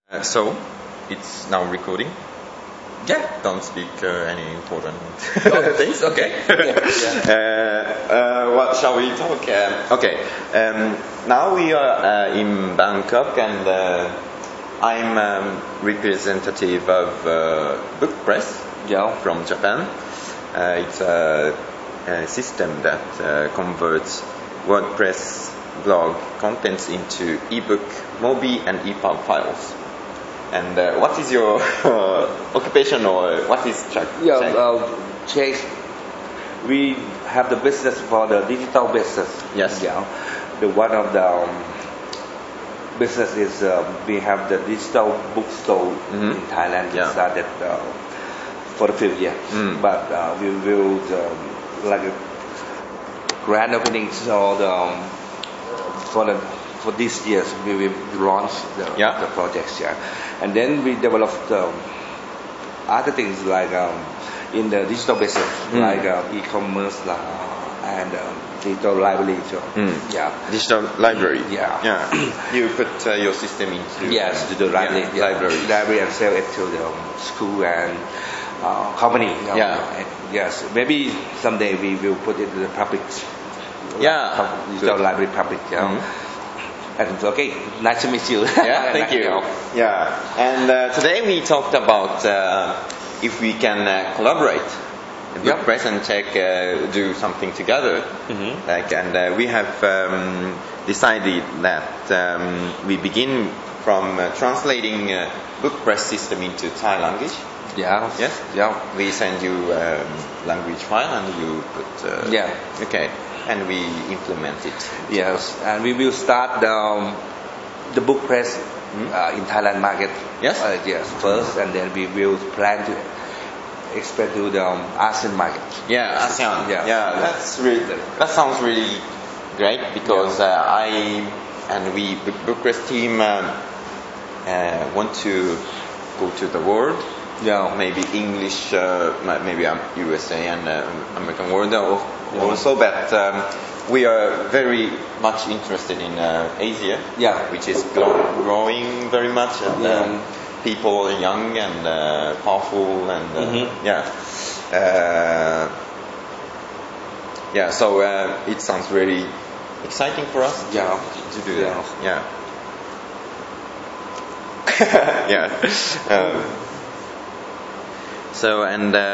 So, it's now recording. Yeah, don't speak any important things. Okay. What shall we talk? Okay. Now we are in Bangkok, and I'm representative of Book Press from Japan. It's a system that converts WordPress blog contents into ebook, Mobi, and EPUB files. And what is your occupation, or what is Chuck? Chase, we have the business for the digital business. Yes. Yeah. The one of the business is we have the digital bookstore in Thailand. We started for a few years, but we will like a grand opening for this year we will launch the projects, and then we developed other things like in the digital business, like e-commerce and digital library. Digital library. Yeah. You put your system into the library and sell it to the school and company. Yes. Maybe someday we will put it to the public. Digital library public. And okay, nice to meet you. Thank you. And today we talked about if we can collaborate, Book Press and Tech do something together. And we have decided that we begin from translating Book Press system into Thai language. We send you language file and you put. Okay. And we implement it. Yes, and we will start the Book Press in Thailand market. Yes. First, and then we will plan to expand to the ASEAN market. ASEAN. That sounds really great because we Book Press team want to go to the world. Maybe English, maybe USA and American world also, but we are very much interested in Asia, which is growing very much, and people are young and powerful, and so it sounds really exciting for us to do that. So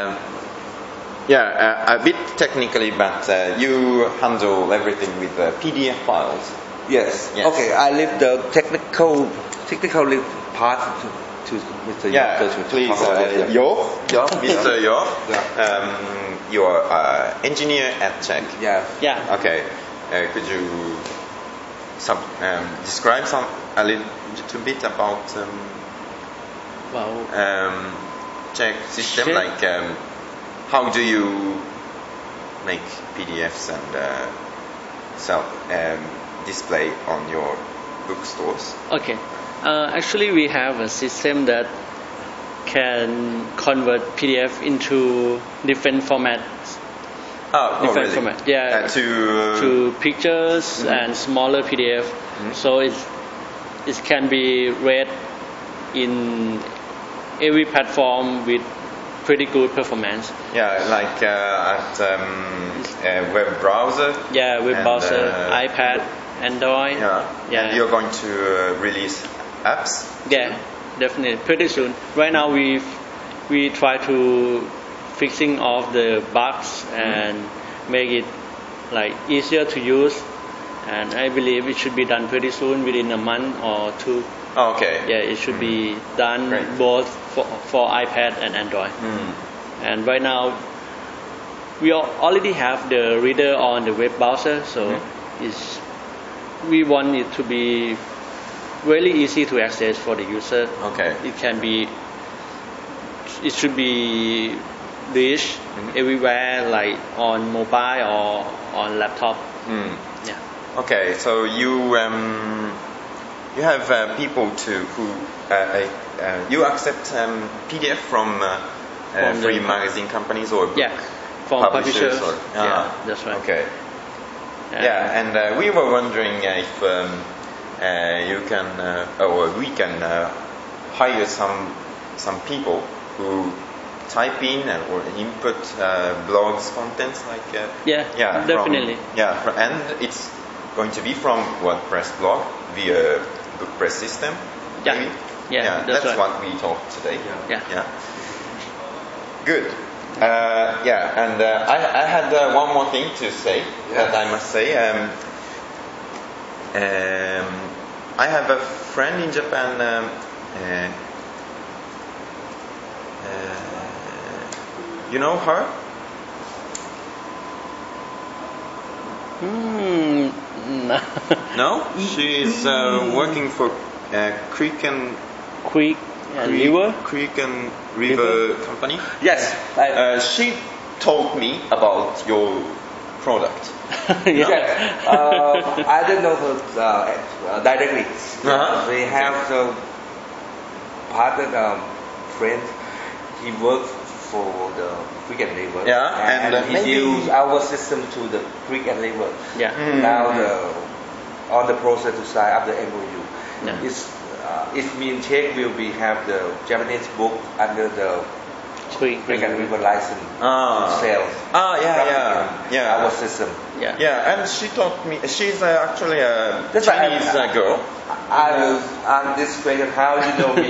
a bit technically, but you handle everything with PDF files. Yes. Okay, I leave the technical part to Mr. Yo. Please, Mr. Yo. You are engineer at Czech. Okay. Could you describe a little bit about Czech system, like how do you make PDFs and sell display on your bookstores? Okay, actually we have a system that can convert PDF into different formats. Really? Format. To pictures and smaller PDF, so it can be read in every platform with pretty good performance. Like at web browser. Web browser, iPad, Android. And you're going to release apps? Definitely, pretty soon. Right now we try to fixing off the bugs and make it like easier to use. And I believe it should be done pretty soon, within a month or two. It should be done both for iPad and Android. And right now, we already have the reader on the web browser, so we want it to be really easy to access for the user. It should be reached everywhere, like on mobile or on laptop. Okay, so you have people who you accept PDF from free magazine companies or book from publishers. That's right. Okay. And we were wondering if you can or we can hire some people who type in or input blogs contents like definitely and it's going to be from WordPress blog via BookPress system. Maybe? That's right. What we talked today. Good. And I had one more thing to say that I must say. I have a friend in Japan. You know her? No? She is working for Creek and River company. Yes. She told me about your product. Yes. I don't know her directly. We have the partner friend. He works for the Creek and River. And he used our system to the Creek and River. Now on the process to sign up the MOU. It means Czech will have the Japanese book under the Creek and River license sales. Our system. And she told me she's actually a Chinese girl. I will ask this question. How you know me?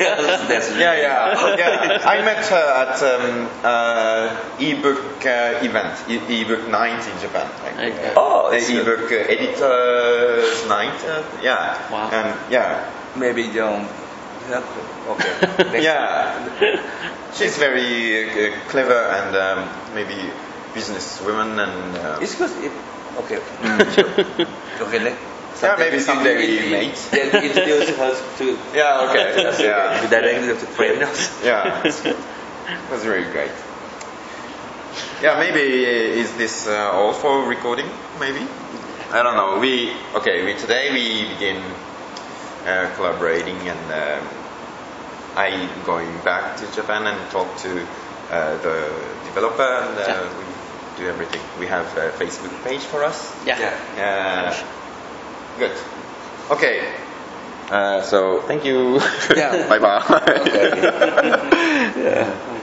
I met her at ebook event, ebook night in Japan. Ebook editors night. Wow. And maybe don't. Okay. She's very clever and maybe businesswoman and. It's because okay. Okay. Maybe someday we meet. Introduce her to. Directly to friends. It was really great. Maybe is this all for recording? Maybe I don't know. Today we begin collaborating, and I going back to Japan and talk to the developer, and we do everything. We have a Facebook page for us. Good. Okay. So thank you. Yeah. Bye bye. Okay.